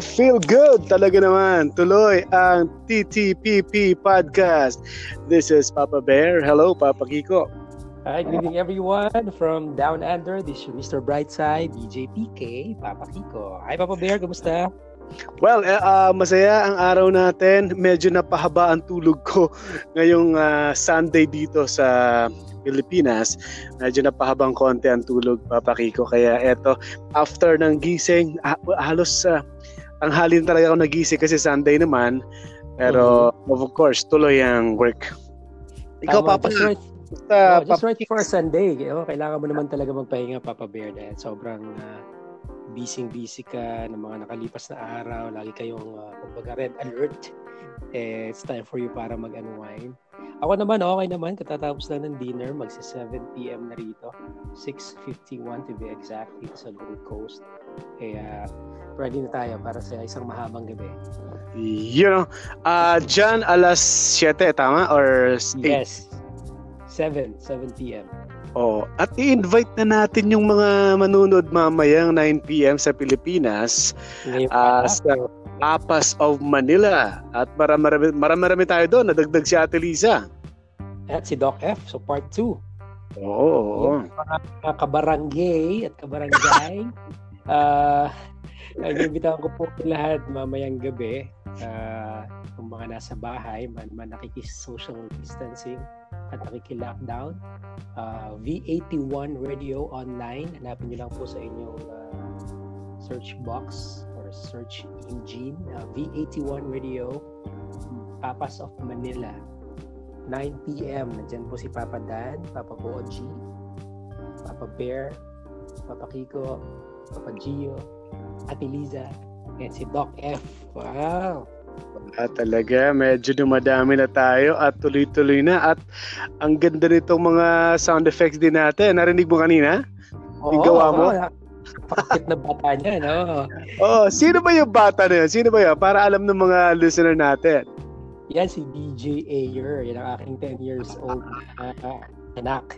Feel good talaga naman. Tuloy ang TTPP Podcast. This is Papa Bear. Hello, Papa Kiko. Hi, good evening everyone from Down Under. This is Mr. Brightside, DJ PK, Papa Kiko. Hi, Papa Bear. Kumusta? Well, masaya ang araw natin. Medyo napahaba ang tulog ko ngayong Sunday dito sa Pilipinas. Medyo napahabang konti ang tulog, Papa Kiko. Kaya eto, after ng gising, halos tanghalin talaga ako nagising kasi Sunday naman. Pero of course, tuloy ang work. Ikaw, Papa, just right for Sunday. Kailangan mo naman talaga magpahinga, Papa Bear, dahil sobrang busy ka ng mga nakalipas na araw. Lagi kayong kumbaga red alert. It's time for you para mag-unwind. Ako naman, okay naman. Katatapos lang ng dinner. Magsi 7 p.m. na rito. 6:51 to be exact dito sa Gold Coast. Kaya ready na tayo para sa isang mahabang gabi. Dyan alas 7, tama? Or 8? Yes. 7 p.m. Oh, at i-invite na natin yung mga manunod mamayang 9 p.m. sa Pilipinas sa Tapas of Manila. At marami tayo doon. Nadagdag si Ate Liza. At si Doc F. So part 2. Oo. Mga kabarangay at kabarangay. Nag-imbitahan ko po lahat mamayang gabi. Kung mga nasa bahay, man nakikis-social distancing at nakiki-lockdown. V81 Radio Online. Hanapin nyo lang po sa inyong search box or search engine. V81 Radio Tapas of Manila. 9 p.m. Nandyan po si Papa Dan, Papa Boji, Papa Bear, Papa Kiko, Papa Gio, Ate Liza, and si Doc F. Wow! Talaga, medyo dumadami na tayo at tuloy-tuloy na. At ang ganda nitong mga sound effects din natin. Narinig mo kanina? Yung gawa mo? Pakit na bata niya, no? Sino ba yung bata na yun? Sino ba yun? Para alam ng mga listener natin. Yan si DJ Ayer. Yan ang aking 10 years old anak.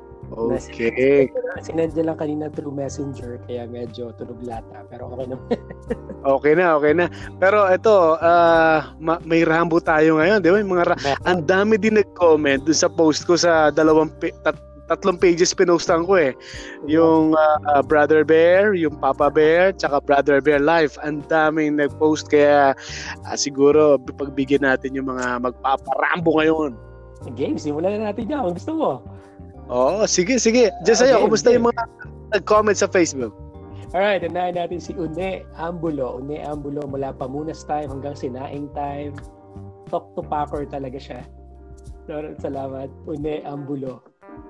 Okay. Sinendya lang kanina through Messenger kaya medyo tunog lata pero okay naman. Okay na. Pero ito, may Rambo tayo ngayon, di ba? Ang dami din nag-comment doon sa post ko sa tatlong pages pinostan ko eh. Yung Brother Bear, yung Papa Bear, tsaka Brother Bear Live. Ang daming nag-post kaya siguro pagbigyan natin yung mga magpaparambo ngayon. Game, simulan na natin yan. Gusto mo? Sige. Diyan sa'yo, kumusta yung mga nag-comment sa Facebook? Alright, unahin natin si Une Ambulo. Une Ambulo mula Pamunas time hanggang Sinaing time. Talk to Packer talaga siya. Salamat, Une Ambulo.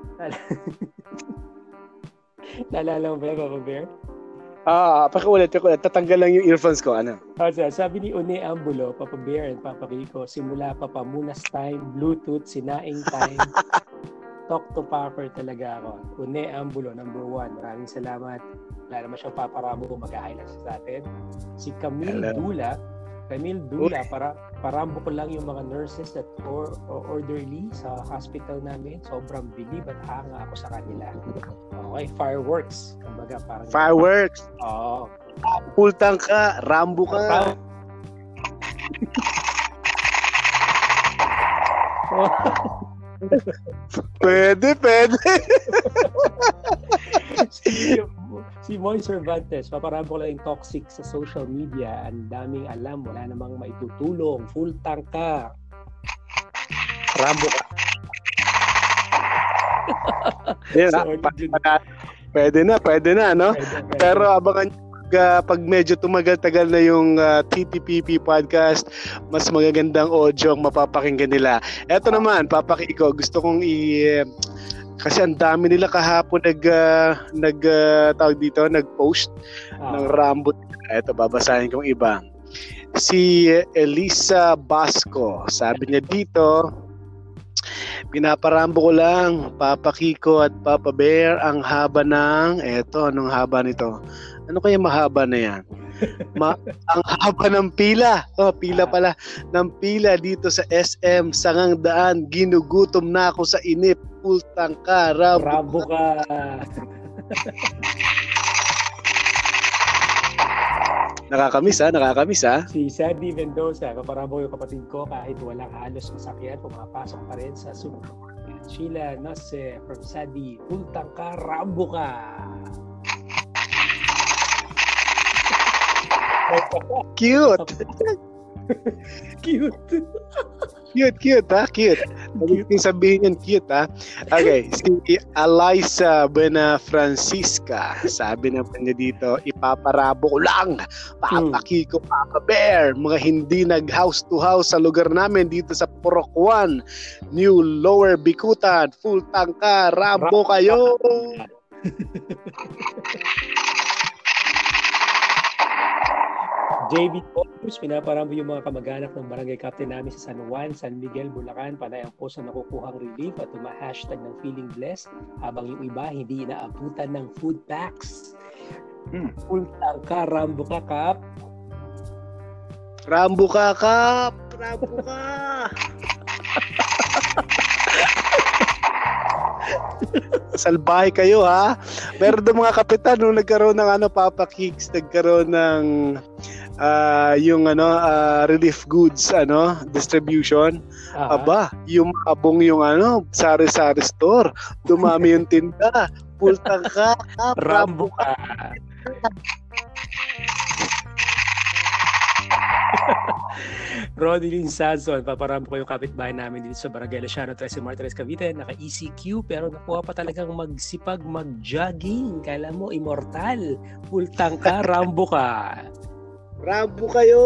Naalala mo ba, Papa Bear? Pakiulit. Tatanggal lang yung earphones ko. Ano? Sabi ni Une Ambulo, Papa Bear and Papa Rico, simula pa Pamunas time, Bluetooth, Sinaing time. Talk to Packer talaga ako. Une Ambulo, number 1. Maraming salamat. Wala naman siyang paparamo kung mag-highlight sa atin. Si Camille Dula, para parambo ko lang yung mga nurses at orderly sa hospital namin. Sobrang bilib at hanga ako sa kanila. Okay, fireworks. Kumbaga, parang fireworks? Oo. Pultang ka, Rambo ka. Pwede. Si Moy Cervantes, paparabo ko lang yung toxic sa social media. Ang daming alam, wala namang maitutulong. Full tank ka. Rambo ka. Pwede na, no? Pwede. Pero abangan pag medyo tumagal-tagal na yung TTPP podcast, mas magagandang audio ang mapapakinggan nila. Eto naman, Papa Kiko, gusto kong kasi ang dami nila kahapon nag-post ng Rambo. Eto, babasahin kong iba. Si Elisa Basco, sabi niya dito, pinaparambo ko lang, Papa Kiko at Papa Bear, ang haba ng, anong haba nito? Ano kaya mahaba na yan? Ang haba ng pila. Pila pala. Ng pila dito sa SM, Sangang Daan. Ginugutom na ako sa inip. Pultang ka. Rambo ka. Nakakamiss ha. Si Sandy Mendoza, kaparabo yung kapatid ko kahit walang halos masakyan, pumapasok pa rin sa supermarket. Sheila Nose from Sandy, ultang ka, rambo ka. Cute. Cute. Cute ha? Cute. Yung sabihin yun, cute ha? Okay, si Eliza Buena Francisca, sabi naman niya dito, ipaparabo ko lang, Papa Kiko, Papa Bear, mga hindi nag-house to house sa lugar namin dito sa Purok 1, New Lower Bikutan, full tangka, rabo kayo! JB Focus, pinaparamo yung mga kamag-anak ng barangay captain namin sa San Juan, San Miguel, Bulacan. Panay ang post na nakukuhang relief at hashtag ng feeling blessed habang yung iba hindi inaabutan ng food packs. Full tangka, rambo ka, Kap. Rambo ka, Kap! Rambo ka! Salbahe kayo ha. Meron doon mga kapitan nung nagkaroon ng Papa Kicks, nagkaroon ng yung relief goods distribution. Aba, yung abong yung sari-sari store, dumami yung tinda. Full tangka, rambo ka. Rodilyn Sanson, paparampo ko yung kapitbahay namin dito sa Barangay Lasiano, 13 Martires, Cavite. Naka-ECQ pero nakuha pa talagang magsipag mag-jogging. Kala mo, immortal. Full tangka, rambo ka. Rambo kayo!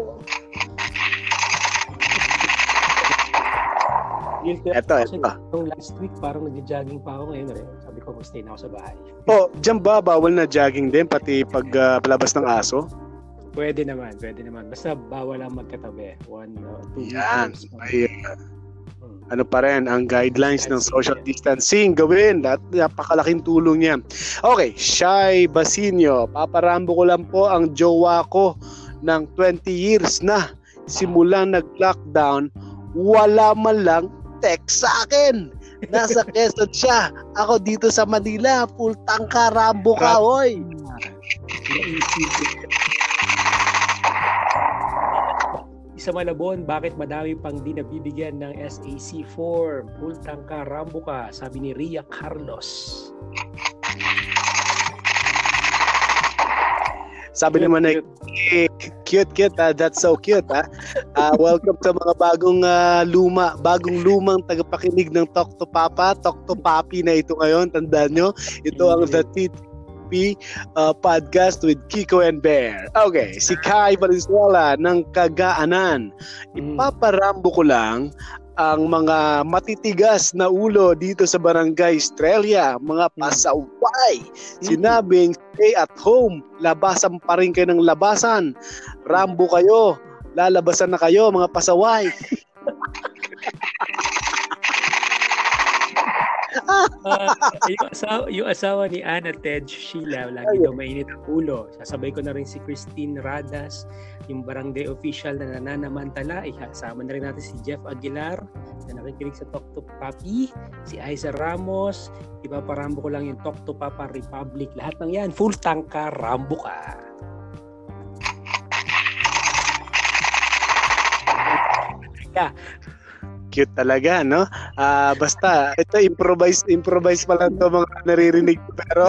Ito. Yung last week, parang nag-jogging pa ako ngayon rin. Sabi ko, stay na ako sa bahay. Diyan ba bawal na jogging din, pati paglabas ng aso? Pwede naman. Basta bawal lang magkatabi. 1 or 2 Yan. meters. Ano pa rin, ang guidelines ng social distancing gawin. Napakalaking tulong niya. Okay, Shai Basinio. Paparambo ko lang po ang jowa ko ng 20 years na. Simulang nag-lockdown, wala man lang text sa akin. Nasa Quezon siya. Ako dito sa Manila. Full tangka, rambo ka, hoy. Sa Malabon, bakit madami pang di nabibigyan ng SAC form? Full tangka, rambo ka, sabi ni Ria Carlos. Sabi naman na cute that's so cute welcome sa mga bagong lumang tagapakinig ng Talk to Papa, Talk to Papi na ito ngayon. Tandaan nyo, ito ang The TTP podcast with Kiko and Bear. Okay, si Kai Valenzuela ng Kagaanan. Ipaparambo ko lang ang mga matitigas na ulo dito sa Barangay Estrella, mga pasaway. Sinabing stay at home, labasan pa rin kayo ng labasan. Rambo kayo, lalabasan na kayo mga pasaway. Yung asawa ni Anna Ted Sheila, lagi daw mainit ang ulo. Sasabay ko na rin si Christine Radas, yung barangay official na nananamantala. Kasama na rin natin si Jeff Aguilar na nakikinig sa Talk to Papi, si Aiza Ramos. Ipaparambo ko lang yung Talk to Papa Republic. Lahat ng yan, full tangka, rambo ka. Cute talaga, no? Basta, ito improvise pa lang to mga naririnig. Pero,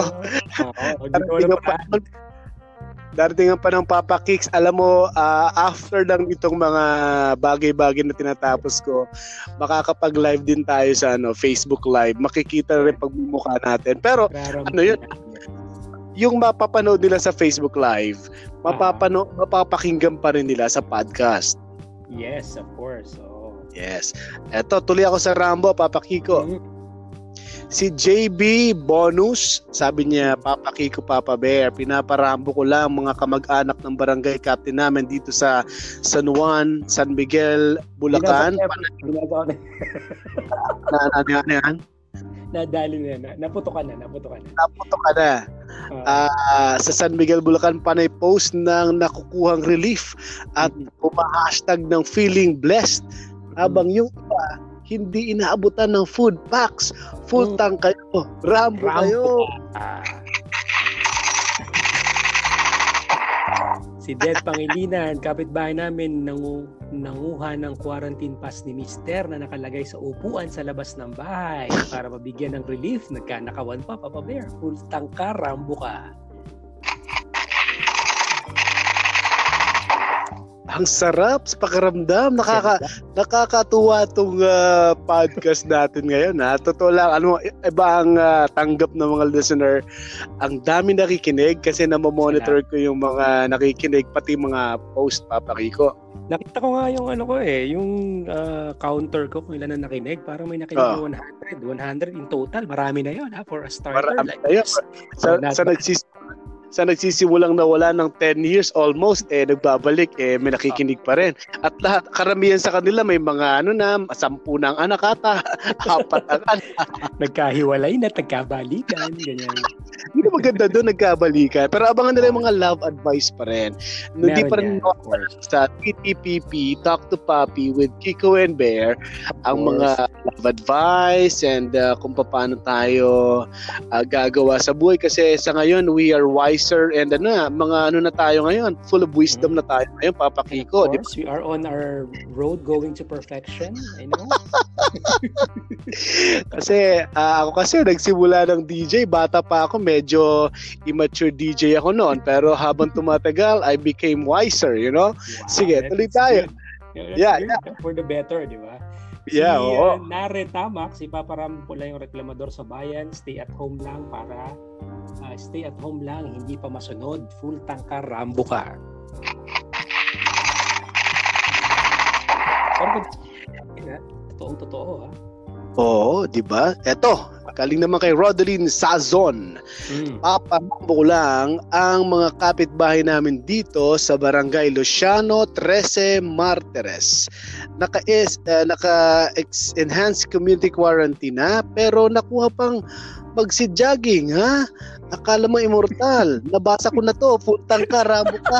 darating pa ng Papa Kicks. Alam mo, after lang itong mga bagay-bagay na tinatapos ko, makakapag-live din tayo sa Facebook Live. Makikita rin pagmumukha natin. Pero, yun? Yung mapapanood nila sa Facebook Live, mapapakinggan pa rin nila sa podcast. Yes, of course. Yes. Eto, tuloy ako sa Rambo, Papa Kiko. Si JB Bonus, sabi niya, Papa Kiko, Papa Bear, pinaparambo ko lang mga kamag-anak ng barangay captain namin dito sa San Juan, San Miguel, Bulacan. Nadali na. Naputo ka na. Sa San Miguel, Bulacan, panay post ng nakukuhang relief at hashtag ng feeling blessed. Habang yung iba, hindi inaabutan ng food packs. Full tank kayo. Rambo kayo. Si Ded Pangilinan, kapitbahay namin, nanguha ng quarantine pass ni Mister na nakalagay sa upuan sa labas ng bahay para mabigyan ng relief. Nagkanakawan pa, Papa Bear. Full tangka, Rambo ka. Ang sarap sa pakiramdam. Nakakatuwa itong podcast natin ngayon. Totoo lang, iba ang tanggap ng mga listener. Ang dami nakikinig kasi namomonitor ko yung mga nakikinig, pati mga post, Papa Kiko. Nakita ko nga yung yung counter ko kung ilan na nakinig. Parang may nakinig na 100 in total. Marami na yun for a starter. Marami na yun. Sa nagsisimulang nawala ng 10 years almost, nagbabalik, may nakikinig pa rin. At lahat, karamihan sa kanila may mga 10 na ang anak ata, 4 ang anak. Nagkahiwalay na, nagkabalikan, ganyan. Hindi maganda doon, nagkabalikan. Pero abangan nila yung mga love advice pa rin. Hindi pa rin sa TTPP, Talk to Papi with Kiko and Bear, ang mga love advice and kung paano tayo gagawa sa buhay. Kasi sa ngayon, we are wiser and mga na tayo ngayon, full of wisdom na tayo ngayon, Papa Kiko. Of course, we are on our road going to perfection. I know. Kasi ako nagsimula ng DJ, bata pa ako, medyo immature DJ ako noon, pero habang tumatagal, I became wiser, you know? Wow, sige, tuloy tayo. Yeah. For the better, di ba? Yeah, oo. Nare Tamak, si Papa Ram pula yung reklamador sa bayan, stay at home lang, hindi pa masunod, full tangka, Rambo ka. Totoo ha. Oo, di ba? Eto, galing naman kay Rodeline Sazon. Papahambo lang ang mga kapitbahay namin dito sa Barangay Luciano 13 Martires. Naka-enhanced community quarantine pero nakuha pang magsi-jogging ha. Akala mo immortal. Nabasa ko na to, full tangka, Rambo ka.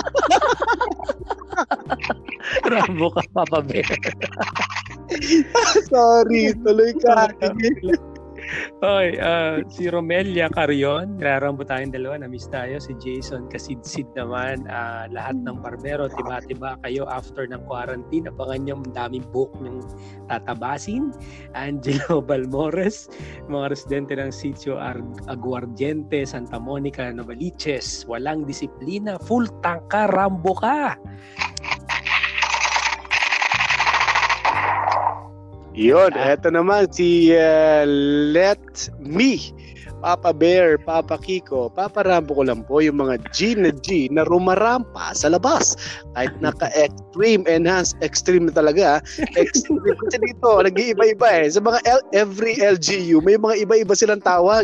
Rambo ka, Papa Bear. Sorry, tuloy ka. Oy, si Romelia Carion, nararambo tayong dalawa, na-miss tayo. Si Jason Kasidsid naman, lahat ng barbero, tiba-tiba kayo after ng quarantine. Abangan nyo, daming book nyong tatabasin. Angelo Balmores, mga residente ng Sitio Aguardiente, Santa Monica, Novaliches, walang disiplina, full tangka, Rambo ka. Yun, eto naman si Let Me, Papa Bear, Papa Kiko, Papa Rambo ko lang po yung mga G na rumarampa sa labas. Kahit naka-extreme, enhanced, extreme na talaga. Extreme kasi dito, nag-iiba-iba Sa mga every LGU, may mga iba-iba silang tawag.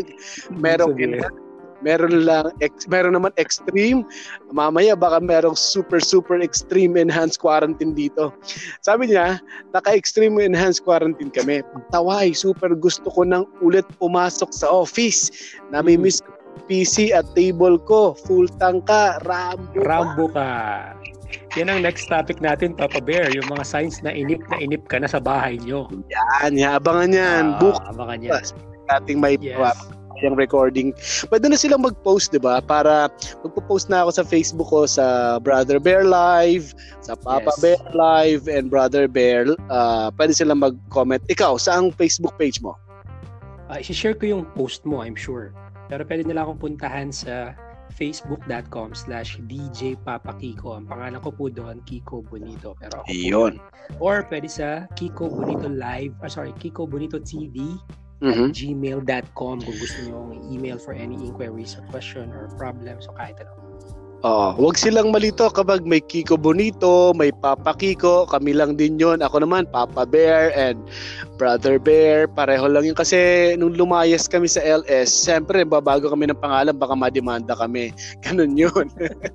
Meron naman extreme. Mamaya baka merong super extreme enhanced quarantine dito. Sabi niya, naka-extreme enhanced quarantine kami. Taway, super gusto ko nang ulit pumasok sa office. Nami-miss ko PC at table ko. Full tangka, Rambo ka. Yan ang next topic natin, Papa Bear. Yung mga signs na inip ka na sa bahay nyo. Yan, abangan yan. Abangan yan. Ating may yung recording. Pwede na silang mag-post, di ba? Para magpo-post na ako sa Facebook ko, sa Brother Bear Live, sa Papa Bear Live, and Brother Bear. Pwede silang mag-comment. Ikaw, saang Facebook page mo? I-share ko yung post mo, I'm sure. Pero pwede nila akong puntahan sa facebook.com/DJ Papa Kiko. Ang pangalan ko po doon, Kiko Bonito. Pero ako Iyon. Or pwede sa Kiko Bonito Live, Kiko Bonito TV, gmail.com kung gusto nyo email for any inquiries or question or problems o kahit ano. Huwag silang malito kapag may Kiko Bonito, may Papa Kiko, kami lang din yun. Ako naman, Papa Bear and Brother Bear, pareho lang yun. Kasi nung lumayas kami sa LS, siyempre, babago kami ng pangalan, baka mademanda kami. Ganun yun.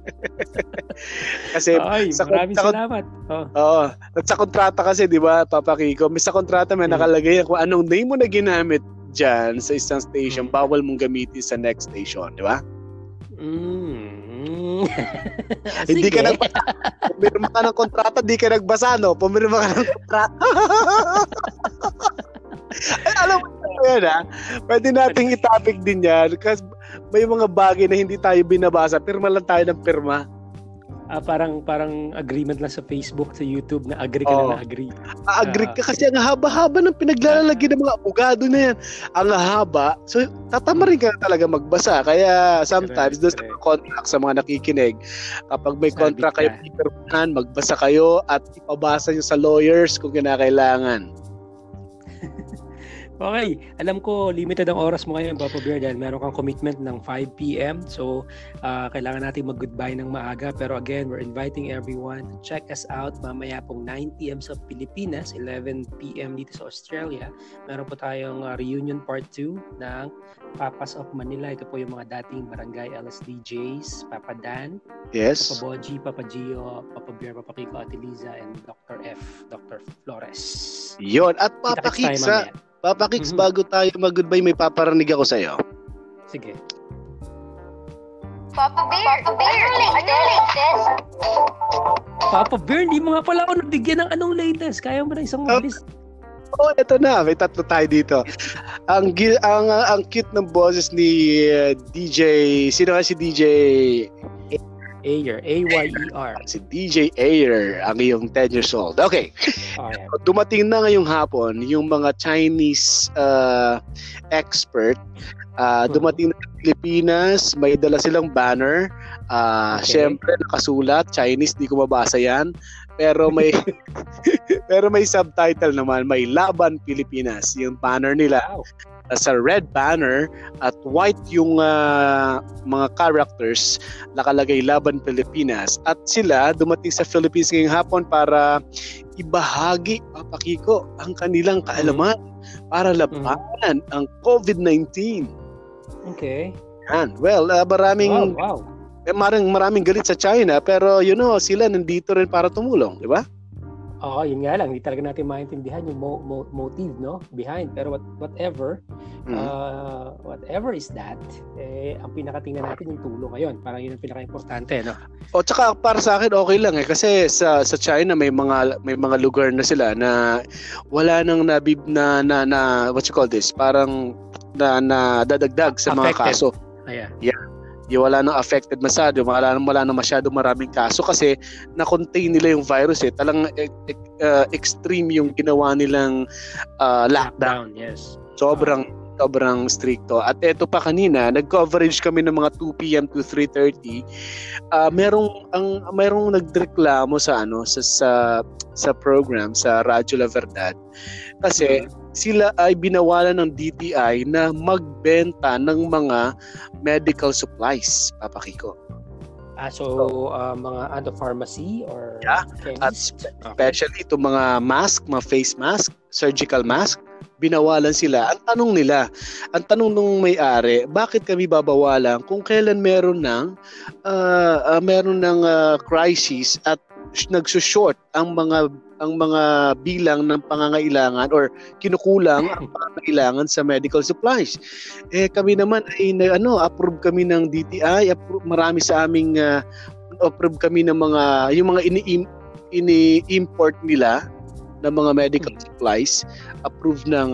Kasi maraming salamat. Sa kontrata kasi, di ba, Papa Kiko, may sa kontrata may nakalagay kung anong name mo na ginamit dyan sa isang station, bawal mong gamitin sa next station, di ba? Hindi ka nagbasa. Pumirma ka ng kontrata, di ka nagbasa, no? Pumirma ka ng kontrata. Ay, alam mo yan, ha? Pwede nating i-topic din yan kasi may mga bagay na hindi tayo binabasa. Pirma lang tayo ng pirma. parang agreement lang sa Facebook, sa YouTube na agree ka na agree. Agree ka kasi ang haba-haba ng pinaglalagay ng mga abogado na yan. Ang haba. So, tatama rin ka talaga magbasa. Kaya sometimes, doon sa mga contract, sa mga nakikinig, kapag may contract kayo, magbasa kayo at ipabasa nyo sa lawyers kung kinakailangan. Okay, alam ko limited ang oras mo ngayon, Papa Bear, dahil meron kang commitment ng 5 p.m. So, kailangan natin mag-goodbye ng maaga. Pero again, we're inviting everyone to check us out mamaya pong 9 p.m. sa Pilipinas, 11 p.m. dito sa Australia. Meron po tayong reunion part 2 ng Papas of Manila. Ito po yung mga dating Barangay LSDJs, Papa Dan, Yes. Papa Boji, Papa Gio, Papa Bear, Papa Kiko, Ate Liza, and Dr. F, Dr. Flores. Yon. At Papa Kicks, bago tayo mag-goodbye, may paparinig ako sa'yo. Sige. Papa Bear, latest. Papa Bear, hindi mo nga pala ako nabigyan ng anong latest. Kaya mo na isang mabilis. Eto na. May tatlo tayo dito. Ang cute ng boses ni DJ... Sino nga si DJ... Ayer, A-Y-E-R. Si DJ Ayer, ang iyong 10 years old. Okay. Dumating na ngayong hapon yung mga Chinese expert. Dumating na sa Pilipinas, may dala silang banner. Syempre, nakasulat, Chinese, di ko mabasa yan. Pero may pero may subtitle naman, may Laban Pilipinas. Yung banner nila. Wow. Sa red banner at white yung mga characters, nakalagay Laban Pilipinas, at sila dumating sa Philippines ngayong hapon para ibahagi, Papa Kiko, ang kanilang kaalaman para labanan ang COVID-19. Okay. Yan. Well, maraming galit sa China, pero sila nandito rin para tumulong, di ba? Oo, yun nga lang, hindi talaga natin maintindihan yung motive, no, behind. Pero whatever is that, ang pinakatingnan natin yung tulong ngayon. Parang yun ang pinaka-importante, no? O tsaka para sa akin okay lang kasi sa China may mga lugar na sila na wala nang what you call this, parang na dadagdag sa affected. Mga kaso. Yeah. Yung wala nang affected masyado, wala nang masyado maraming kaso kasi na-contain nila yung virus Talang extreme yung ginawa nilang lockdown. Yes. Sobrang stricto. At eto pa kanina, nag-coverage kami ng mga 2 p.m. to 3:30. Merong nagreklamo sa program sa Radyo La Verdad kasi sila ay binawalan ng DTI na magbenta ng mga medical supplies, Papa Kiko. Mga pharmacy or chemist? At especially itong mga mask, mga face mask, surgical mask, binawalan sila. Ang tanong nung may-ari, bakit kami babawalan kung kailan meron ng crisis at nagsushort ang mga bilang ng pangangailangan or kinukulang ang pangangailangan sa medical supplies. Kami naman ay approve kami ng DTI, marami sa aming approve kami ng yung mga ini-import nila ng mga medical supplies, approved ng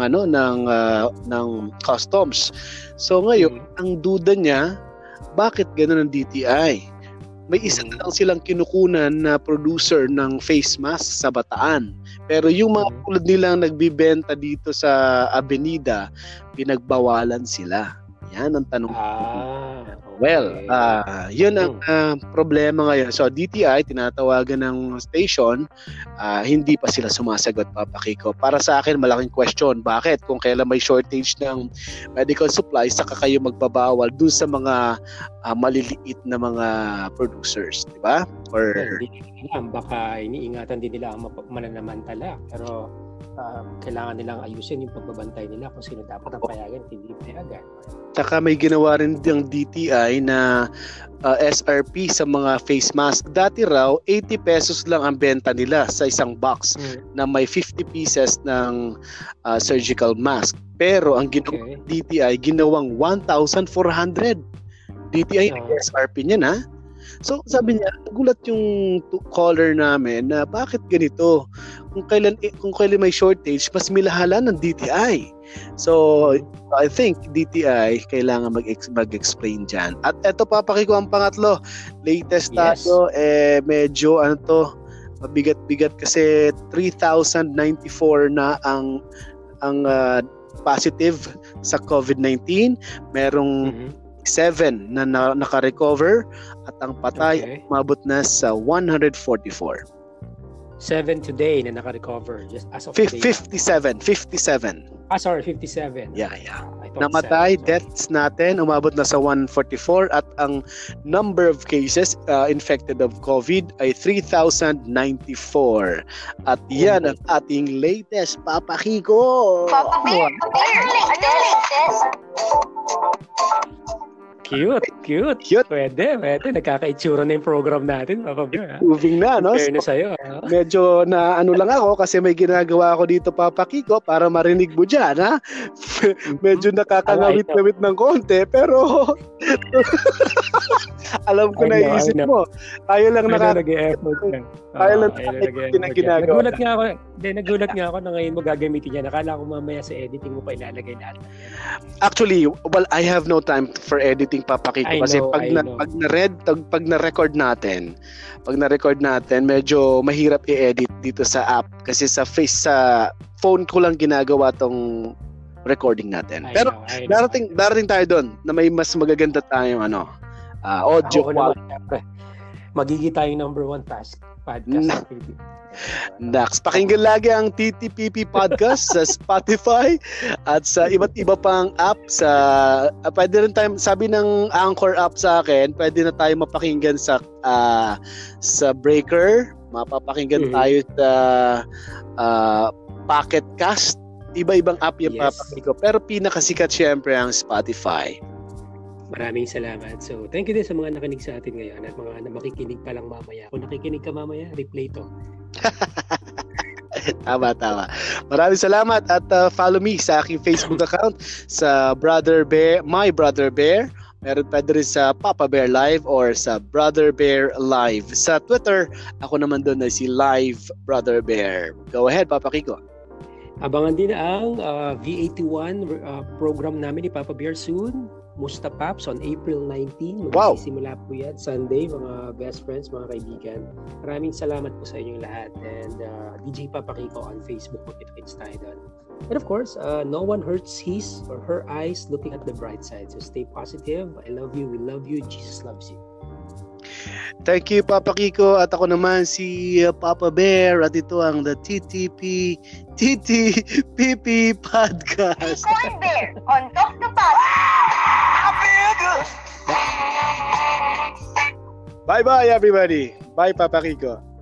customs. So ngayon, ang duda niya, bakit gano'n ang DTI? May isa lang silang kinukunan na producer ng face mask sa Bataan. Pero yung mga tulad nilang nagbibenta dito sa Avenida, pinagbawalan sila. Yan ang tanong. Okay. Well, yun ang problema ngayon. So DTI, tinatawagan ng station, hindi pa sila sumasagot, Papa Kiko. Para sa akin, malaking question. Bakit? Kung kailan may shortage ng medical supplies, saka kayo magbabawal dun sa mga maliliit na mga producers, di ba? Or baka iniingatan din nila ang mananamantala. Pero kailangan nilang ayusin yung pagbabantay nila kung sino dapat ang payagan at hindi payagan. Saka may ginawa rin ng DTI na SRP sa mga face mask. Dati raw, 80 pesos lang ang benta nila sa isang box na may 50 pieces ng surgical mask. Pero ang ginawa DTI, ginawang 1,400. DTI SRP niyan, ha? So sabi niya, nagulat yung caller namin na bakit ganito? Kung kailan may shortage, mas milahala ng DTI. So I think DTI kailangan mag-explain dyan. At eto papakiko ang pangatlo. Latest tayo, medyo mabigat-bigat kasi 3,094 na ang positive sa COVID-19. Merong 7 na naka-recover at ang patay umabot na sa 144. 7 today na naka-recover just as of 57. Sorry, 57. Yeah. Namatay, deaths natin umabot na sa 144 at ang number of cases infected of COVID ay 3,094. At yan ang ating latest Papa Kiko. Papa Bear, darling sis. Cute. Pwede. Nagkakaitsura na yung program natin, Papa Bear. Moving na, no? Fairness sa'yo. Medyo na lang ako kasi may ginagawa ako dito, Papa Kiko, para marinig mo dyan, ha? Medyo nakakangawit-ngawit ng konti, pero alam ko na iisip mo. Tayo lang nag-e-effort lang. Tayo lang ginagawa. Nagulat nga ako na ngayon mo gagamitin yan. Nakala ko mamaya sa editing mo pa ilalagay natin. Actually, I have no time for editing, Papa Kiko, kasi pag na-record natin, medyo mahirap i-edit dito sa app kasi sa phone ko lang ginagawa tong recording natin. Pero darating tayo doon na may mas magaganda tayong audio quality. Magiging tayong number 1 task podcast. Next, pakinggan lagi ang TTPP podcast sa Spotify at sa iba't iba pang app pwede rin tayo, sabi ng Anchor app sa akin, pwede na tayo mapakinggan sa Breaker, mapapakinggan tayo sa Pocket Cast, iba-ibang app yung papakinggan ko, pero pinakasikat syempre ang Spotify. Maraming salamat. So, thank you din sa mga nakinig sa atin ngayon at mga makikinig pa lang mamaya. Kung nakikinig ka mamaya, replay to. Tama. Maraming salamat at follow me sa aking Facebook account sa My Brother Bear. Meron pa rin sa Papa Bear Live or sa Brother Bear Live. Sa Twitter, ako naman doon na si Live Brother Bear. Go ahead, Papa Kiko. Abangan din ang V81 program namin ni Papa Bear soon. Musta Paps on April 19. Magsisimula po yan Sunday, mga best friends, mga kaibigan. Maraming salamat po sa inyong lahat. And DJ Papa Kiko on Facebook, makikita tayo doon. And of course, no one hurts his or her eyes looking at the bright side. So stay positive. I love you. We love you. Jesus loves you. Thank you, Papa Kiko. At ako naman si Papa Bear. At ito ang the TTPP Podcast. Kiko and Bear on Talk the Pod. Bye-bye, everybody. Bye, Papa Kiko.